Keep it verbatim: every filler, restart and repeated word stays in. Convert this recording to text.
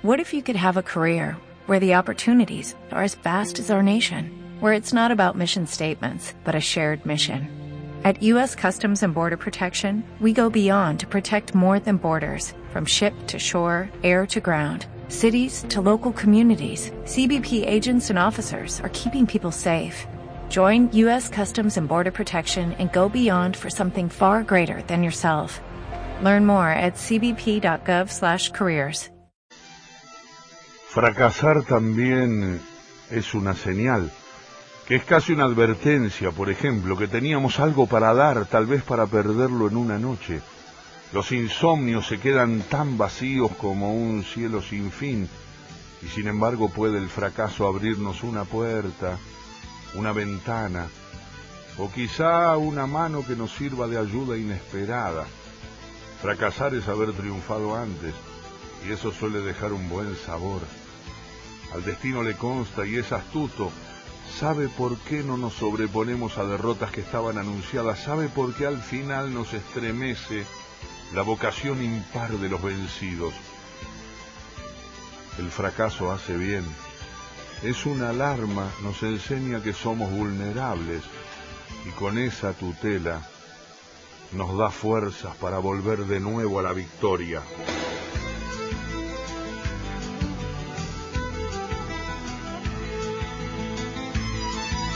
What if you could have a career where the opportunities are as vast as our nation, where it's not about mission statements, but a shared mission? At U S Customs and Border Protection, we go beyond to protect more than borders, from ship to shore, air to ground, cities to local communities. C B P agents and officers are keeping people safe. Join U S Customs and Border Protection and go beyond for something far greater than yourself. Learn more at cbp.gov slash careers. Fracasar también es una señal, que es casi una advertencia, por ejemplo, que teníamos algo para dar, tal vez para perderlo en una noche. Los insomnios se quedan tan vacíos como un cielo sin fin, y sin embargo puede el fracaso abrirnos una puerta, una ventana, o quizá una mano que nos sirva de ayuda inesperada. Fracasar es haber triunfado antes, y eso suele dejar un buen sabor. Al destino le consta y es astuto, sabe por qué no nos sobreponemos a derrotas que estaban anunciadas, sabe por qué al final nos estremece la vocación impar de los vencidos. El fracaso hace bien, es una alarma, nos enseña que somos vulnerables y con esa tutela nos da fuerzas para volver de nuevo a la victoria.